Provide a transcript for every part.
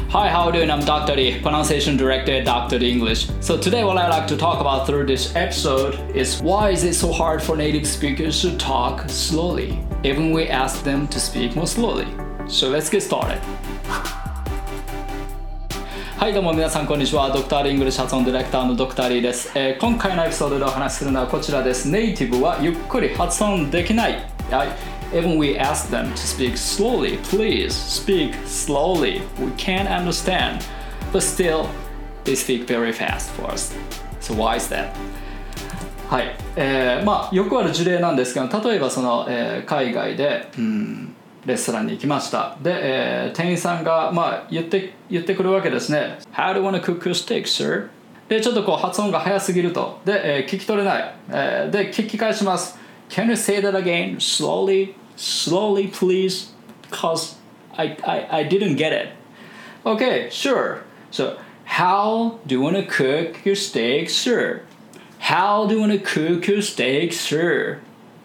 Hi, how are you doing? I'm Dr. Lee, pronunciation director at Dr. Lee English. So today what I'd like to talk about through this episode is why is it so hard for native speakers to talk slowly, even we ask them to speak more slowly. So let's get started. はいどうも皆さんこんにちは。ドクターリーイングリッシュ発音ディレクターのドクターリーです。今回のエピソードでお話しするのはこちらです。ネイティブはゆっくり発音できない。Even we ask them to speak slowly, please speak slowly. We can't understand, but still they speak very fast for us. So why is that? はい、よくある事例なんですけど、例えばその、海外で、レストランに行きました。で、店員さんが、言ってくるわけですね。How do you want to cook your steak, sir? で、ちょっとこう発音が早すぎると。で、聞き取れない。で、聞き返します。Can you say that again? Slowly, please, because I didn't get it. Okay, sure. So, how do you want to cook your steak, sir? How do you want to cook your steak, sir?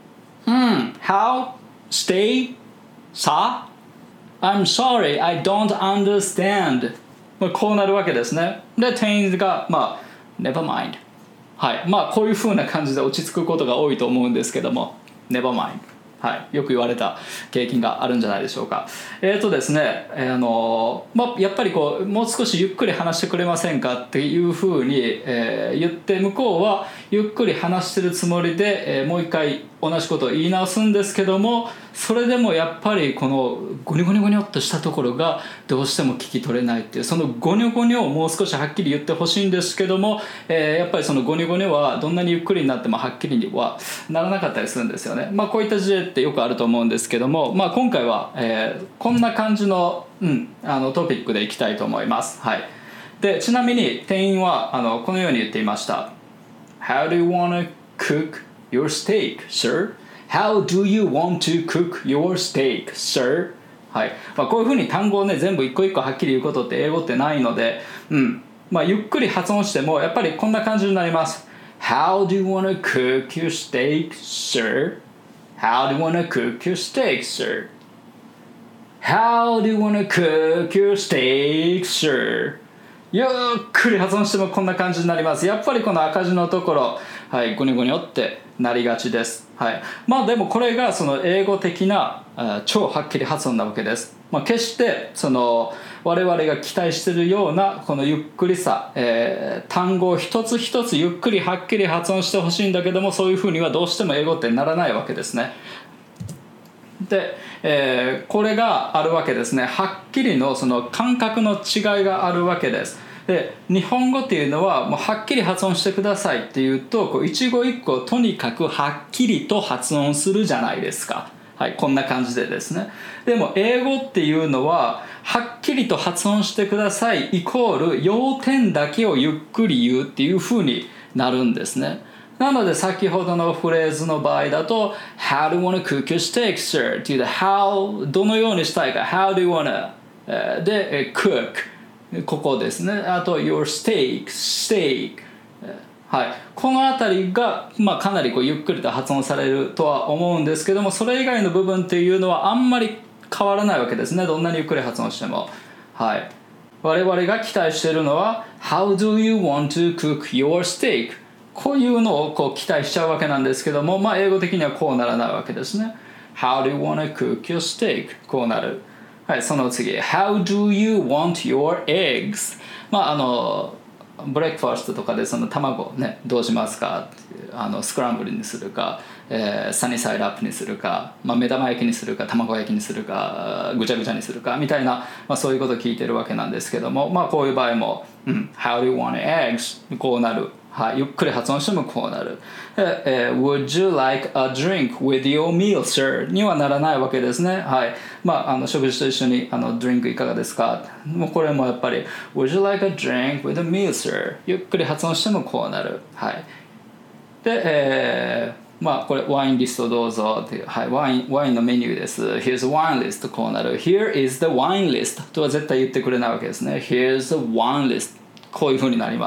How? Stay? Sa? I'm sorry, I don't understand. こうなるわけですね。で、店員が、never mind. はい。こういう風な感じで落ち着くことが多いと思うんですけども、never mind. はい。よく言われた経験があるんじゃないでしょうか。ですね、やっぱりこう、もう少しゆっくり話してくれませんかっていう風に、言って向こうはゆっくり話してるつもりで、もう一回同じことを言い直すんですけども、それでもやっぱりこのゴニョゴニョゴニョっとしたところがどうしても聞き取れないっていう、そのゴニョゴニョをもう少しはっきり言ってほしいんですけども、やっぱりそのゴニョゴニョはどんなにゆっくりになってもはっきりにはならなかったりするんですよね。こういった事例ってよくあると思うんですけども、今回は、こんな感じの、トピックでいきたいと思います。はい。で、ちなみに店員はこのように言っていました。How do you want to cook your steak, sir?How do you want to cook your steak, sir? はい。こういうふうに単語をね、全部一個一個はっきり言うことって英語ってないので、ゆっくり発音してもやっぱりこんな感じになります。How do you want to cook your steak, sir? How do you want to cook your steak, sir? How do you want to cook your steak, sir? ゆっくり発音してもこんな感じになります。やっぱりこの赤字のところ、はい、ゴニョゴニョってなりがちです。はい。でもこれがその英語的な超はっきり発音なわけです。決してその我々が期待しているようなこのゆっくりさ、単語を一つ一つゆっくりはっきり発音してほしいんだけども、そういうふうにはどうしても英語ってならないわけですね。で、これがあるわけですね。はっきりのその感覚の違いがあるわけです。で、日本語っていうのはもうはっきり発音してくださいっていうと、こう一語一句とにかくはっきりと発音するじゃないですか。はい、こんな感じでですね。でも英語っていうのははっきりと発音してくださいイコール要点だけをゆっくり言うっていう風になるんですね。なので先ほどのフレーズの場合だと How do you want to cook your steak, sir? っていうと How どのようにしたいか How do you want to で cook ここですね。あと your steak、はい、このあたりが、かなりこうゆっくりと発音されるとは思うんですけども、それ以外の部分っていうのはあんまり変わらないわけですね。どんなにゆっくり発音しても。はい。我々が期待しているのは How do you want to cook your steak? こういうのをこう期待しちゃうわけなんですけども、英語的にはこうならないわけですね。How do you want to cook your steak? こうなる。はい、その次 How do you want your eggs? ブレックファーストとかでその卵ねどうしますかスクランブルにするか、サニーサイドアップにするか、目玉焼きにするか卵焼きにするかぐちゃぐちゃにするかみたいな、そういうことを聞いてるわけなんですけども、こういう場合も、How do you want eggs? こうなる。はい、ゆっくり発音してもこうなる。Would you like a drink with your meal, sir? にはならないわけですね。はい。食事と一緒にドリンクいかがですか？もうこれもやっぱり Would you like a drink with a meal, sir? ゆっくり発音してもこうなる。はい。で、これワインリストどうぞっていう、はい、ワインのメニューです。Here's the wine list こうなる。Here is the wine list とは絶対言ってくれないわけですね。Here's the wine list こういう風になります。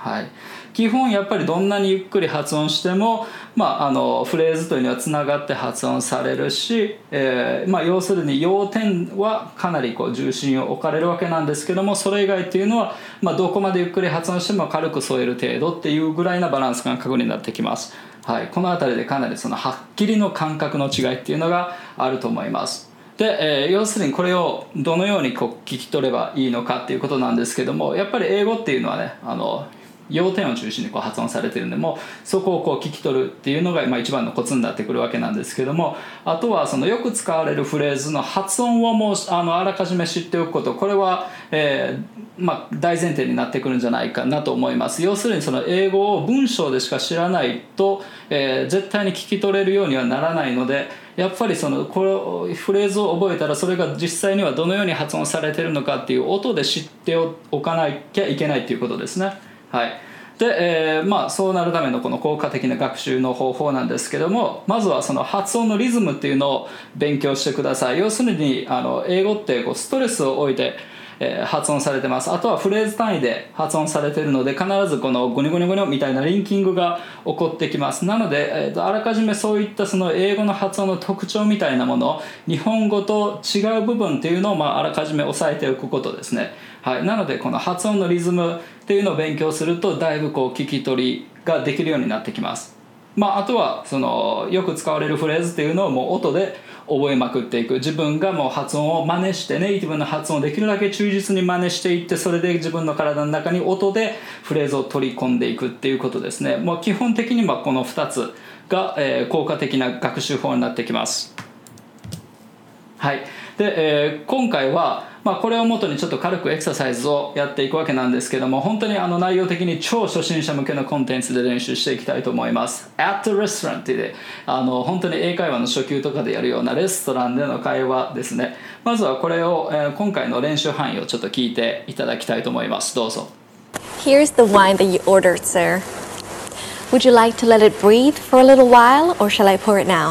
はい、基本やっぱりどんなにゆっくり発音しても、フレーズというのはつながって発音されるし、要するに要点はかなり重心を置かれるわけなんですけども、それ以外っていうのは、どこまでゆっくり発音しても軽く添える程度っていうぐらいなバランス感覚になってきます。はい、この辺りでかなりそのはっきりの感覚の違いっていうのがあると思います。で、要するにこれをどのように聞き取ればいいのかっていうことなんですけども、やっぱり英語っていうのはね、要点を中心に発音されているので、もうそこを聞き取るっていうのが一番のコツになってくるわけなんですけども、あとはそのよく使われるフレーズの発音をもうあらかじめ知っておくこと、これは、大前提になってくるんじゃないかなと思います。要するにその英語を文章でしか知らないと、絶対に聞き取れるようにはならないので、やっぱりこのフレーズを覚えたら、それが実際にはどのように発音されているのかっていう音で知っておかなきゃいけないということですね。はい。で、そうなるためのこの効果的な学習の方法なんですけども、まずはその発音のリズムっていうのを勉強してください。要するに英語ってストレスを置いて発音されてます。あとはフレーズ単位で発音されているので、必ずこのゴニョゴニョゴニョみたいなリンキングが起こってきます。なので、あらかじめそういったその英語の発音の特徴みたいなもの、日本語と違う部分っていうのをあらかじめ押さえておくことですね。はい、なのでこの発音のリズムっていうのを勉強すると、だいぶ聞き取りができるようになってきます。あとはそのよく使われるフレーズっていうのをもう音で覚えまくっていく。自分がもう発音を真似して、ネイティブな発音をできるだけ忠実に真似していって、それで自分の体の中に音でフレーズを取り込んでいくっていうことですね。もう基本的にこの2つが、効果的な学習法になってきます。はい。で、今回はこれをもとにちょっと軽くエクササイズをやっていくわけなんですけども、本当に内容的に超初心者向けのコンテンツで練習していきたいと思います。at the restaurant で本当に英会話の初級とかでやるようなレストランでの会話ですね。まずはこれを、今回の練習範囲をちょっと聞いていただきたいと思います。どうぞ。 Here's the wine that you ordered, sir. Would you like to let it breathe for a little while, or shall I pour it now?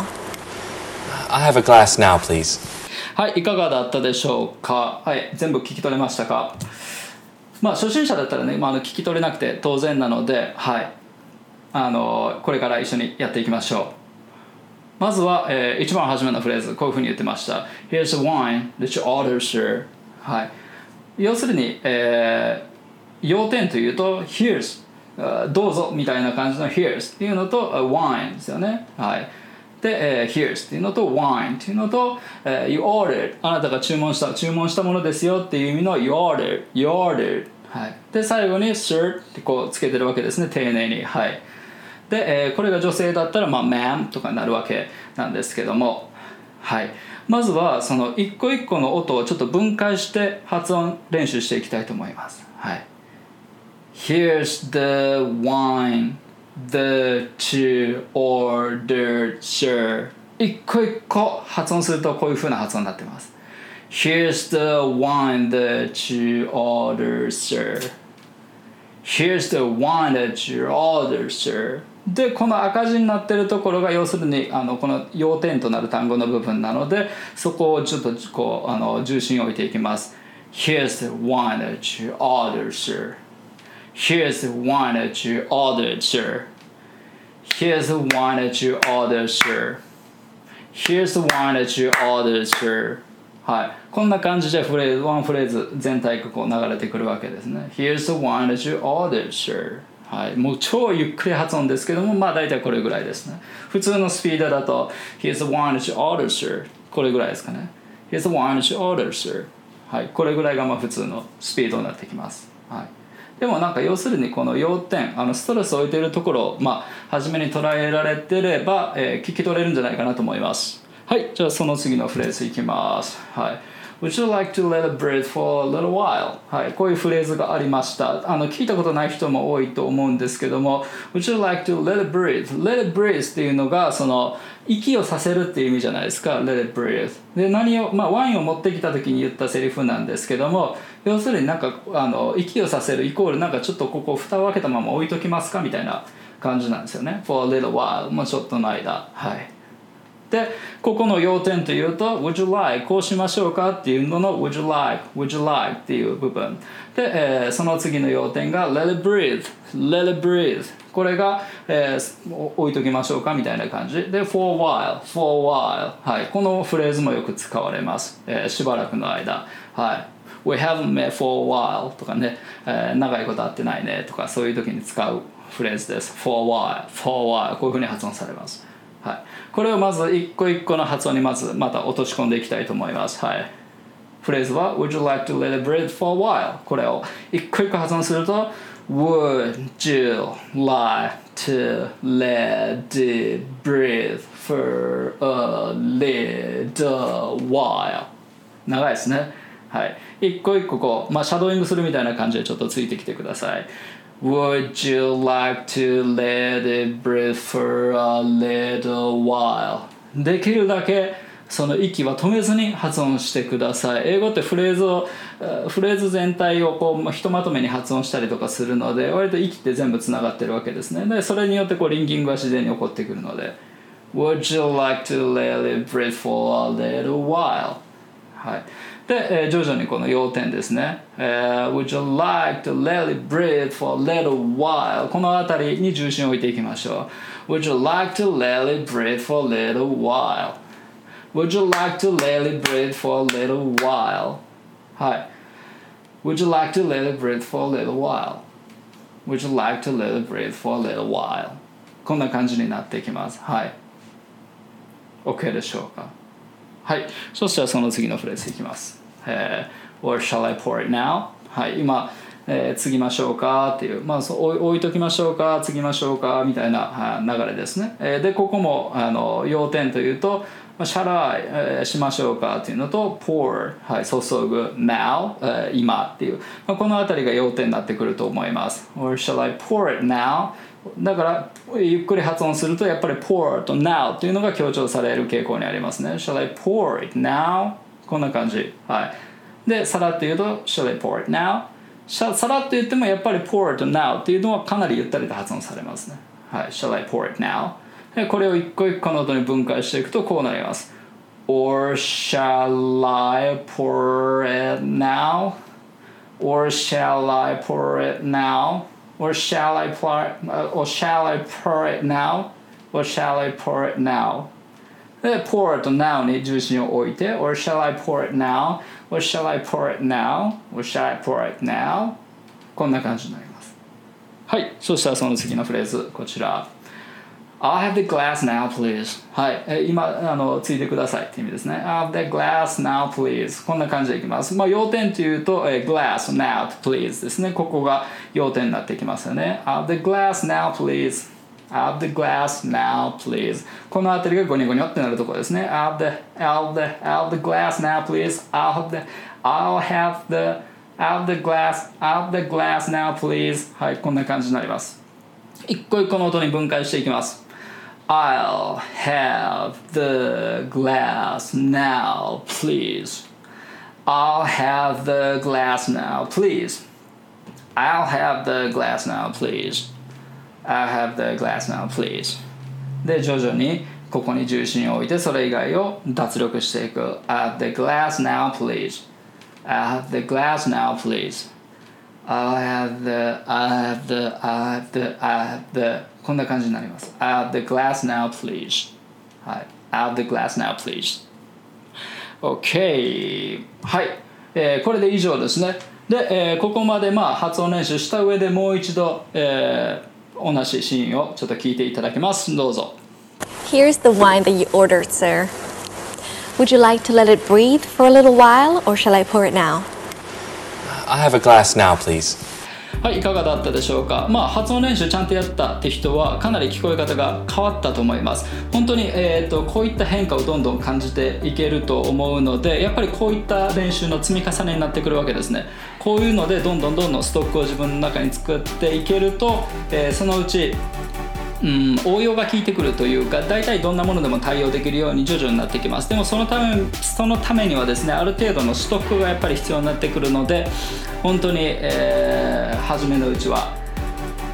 I have a glass now, please. はい、いかがだったでしょうか。はい、全部聞き取れましたか。初心者だったらね、聞き取れなくて当然なので、はい、これから一緒にやっていきましょう。まずは、一番初めのフレーズ、こういうふうに言ってました。 Here's the wine that you ordered, sir. はい、要するに、要点というと Here's、どうぞみたいな感じの Here's っていうのと、wine ですよね。はい。で、Here's っていうのと Wine っていうのと、You ordered あなたが注文したものですよっていう意味の You ordered、はい、で最後に Sir ってつけてるわけですね、丁寧に。はい。で、これが女性だったらMa'am とかになるわけなんですけども、はい、まずはその一個一個の音をちょっと分解して発音練習していきたいと思います。はい。Here's the wine.that you ordered, sir. 一個一個発音するとこういう風な発音になってます。 Here's the wine that you ordered, sir. Here's the wine that you ordered, sir. で、この赤字になってるところが要するにこの要点となる単語の部分なので、そこをちょっと重心を置いていきます。 Here's the wine that you ordered, sir.Here's the wine that you ordered, sir. Here's the wine that you ordered, sir. Here's the wine that you ordered, sir. はい。こんな感じでワンフレーズ全体が流れてくるわけですね。Here's the wine that you ordered, sir. はい。もう超ゆっくり発音ですけども、大体これぐらいですね。普通のスピードだと Here's the wine that you ordered, sir. これぐらいですかね。Here's the wine that you ordered, sir. はい。これぐらいが普通のスピードになってきます。はい。でも要するにこの要点、ストレスを置いているところを初めに捉えられてれば、聞き取れるんじゃないかなと思います。はい、じゃあその次のフレーズいきます。はい。Would you like to let it breathe for a little while? はい、こういうフレーズがありました。聞いたことない人も多いと思うんですけども、Would you like to let it breathe? Let it breathe っていうのがその息をさせるっていう意味じゃないですか。Let it breathe。で、ワインを持ってきた時に言ったセリフなんですけども、要するに息をさせるイコールちょっとここ蓋を開けたまま置いときますかみたいな感じなんですよね。For a little while。もうちょっとの間。はい。 でここの要点というと Would you like こうしましょうかっていうのの Would you like っていう部分で、その次の要点が Let it breathe これが、置いときましょうかみたいな感じで for a while、はい、このフレーズもよく使われます、しばらくの間、はい、We haven't met for a while とかね、長いこと会ってないねとかそういう時に使うフレーズです for a while こういうふうに発音されます、はい、これをまず一個一個の発音にまた落とし込んでいきたいと思います、はい、フレーズは Would you like to let it breathe for a while これを一個一個発音すると Would you like to let it breathe for a little while 長いですね、はい、一個一個こう、シャドーイングするみたいな感じでちょっとついてきてください。Would you like to let it breathe for a little while? できるだけその息は止めずに発音してください。英語ってフレーズ全体をこうひとまとめに発音したりとかするので割と息って全部つながってるわけですね。でそれによってこうリンキングが自然に起こってくるので Would you like to let it breathe for a little while? はいで、徐々にこの要点ですね、Would you like to let it breathe for a little while このあたりに重心を置いていきましょう Would you like to let it breathe for a little while Would you like to let it breathe for a little while はい Would you like to let it breathe for a little while Would you like to let it breathe for a little while こんな感じになっていきますはい OK でしょうかはい、そしたらその次のフレーズいきます。Or shall I pour it now? はい、今、継ぎましょうかっていう、置いときましょうか、継ぎましょうかみたいな流れですね。で、ここも要点というと、shall I、しましょうかっていうのと、pour、はい、注ぐ、now、今っていう、このあたりが要点になってくると思います。Or shall I pour it now?だからゆっくり発音するとやっぱり pour と now っていうのが強調される傾向にありますね Shall I pour it now? こんな感じ、はい、でさらっと言うと Shall I pour it now? さらっと言ってもやっぱり pour と now っていうのはかなりゆったりと発音されますね、はい、Shall I pour it now? でこれを一個一個の音に分解していくとこうなります Or shall I pour it now? Or shall I pour it now?Or shall I pour it now? Or shall I pour it now? で、pour と now に重心を置いて Or shall I pour it now? Or shall I pour it now? Or shall I pour it now? こんな感じになります。はい、そしたらその次のフレーズ、こちら。I'll have the glass now, please. はい、今ついてくださいって意味ですね。I'll have the glass now, please. こんな感じでいきます。要点というと、glass now, please ですね。ここが要点になってきますよね。I'll have the glass now, please. I'll have the glass now, please. このあたりがゴニョゴニョってなるところですね。I'll have the glass now, please. I'll have the glass now, please. はい、こんな感じになります。一個一個の音に分解していきます。I'll have the glass now, please. I'll have the glass now, please. I'll have the glass now, please. I'll have the glass now, please. で、徐々にここに重心を置いてそれ以外を脱力していく。I'll have the glass now, please. I'll have the glass now, please. I'll have the こんな感じになります。I'll have the glass now, please. はい。I'll have the glass now, please. OK。はい。これで以上ですね。で、ここまで発音練習した上でもう一度、同じシーンをちょっと聞いていただきます。どうぞ。 Here's the wine that you ordered, sir. Would you like to let it breathe for a little while, or shall I pour it now? I have a glass now, please. はい、いかがだったでしょうか。発音練習ちゃんとやったって人はかなり聞こえ方が変わったと思います。本当に、こういった変化をどんどん感じていけると思うので、やっぱりこういった練習の積み重ねになってくるわけですね。こういうのでどんどんストックを自分の中に作っていけると、そのうち応用が効いてくるというか、大体どんなものでも対応できるように徐々になってきます。でもそのためにはですね、ある程度のストックがやっぱり必要になってくるので、本当に、初めのうちは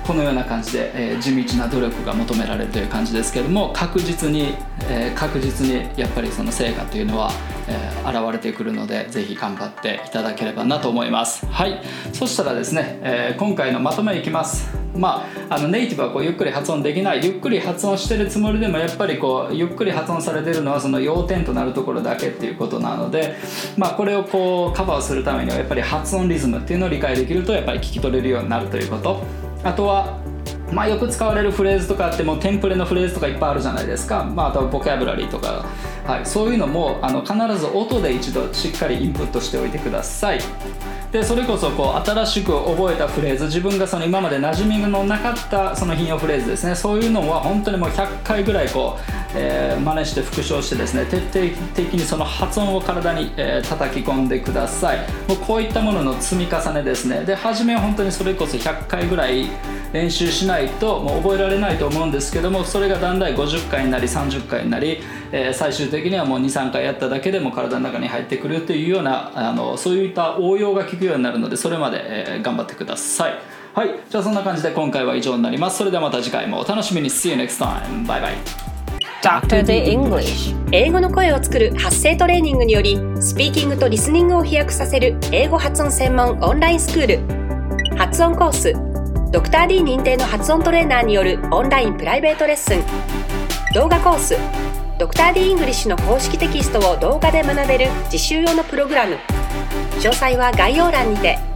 このような感じで、地道な努力が求められるという感じですけれども、確実にやっぱりその成果というのは、現れてくるので、ぜひ頑張っていただければなと思います。はい、そしたらですね、今回のまとめいきます。ネイティブはこうゆっくり発音できない、ゆっくり発音してるつもりでもやっぱりこうゆっくり発音されてるのはその要点となるところだけっていうことなので、これをこうカバーするためにはやっぱり発音リズムっていうのを理解できるとやっぱり聞き取れるようになるということ。あとはよく使われるフレーズとかってもうテンプレのフレーズとかいっぱいあるじゃないですか。あとはボキャブラリーとか、そういうのも必ず音で一度しっかりインプットしておいてください。でそれこそこう新しく覚えたフレーズ、自分がその今まで馴染みのなかったその引用フレーズですね、そういうのは本当にもう100回ぐらいこう、真似して復唱してですね、徹底的にその発音を体に、叩き込んでください。もうこういったものの積み重ねですね。で初めは本当にそれこそ100回ぐらい練習しないともう覚えられないと思うんですけども、それがだんだん50回になり30回になり、最終的にはもう 2,3 回やっただけでも体の中に入ってくるというようなそういった応用が効くようになるので、それまで、頑張ってください。はい、じゃあそんな感じで今回は以上になります。それではまた次回もお楽しみに。 See you next time. Bye bye. Dr. The English 英語の声を作る発声トレーニングによりスピーキングとリスニングを飛躍させる英語発音専門オンラインスクール、発音コース、ドクター D 認定の発音トレーナーによるオンラインプライベートレッスン、動画コース、ドクター D イングリッシュの公式テキストを動画で学べる実習用のプログラム。詳細は概要欄にて。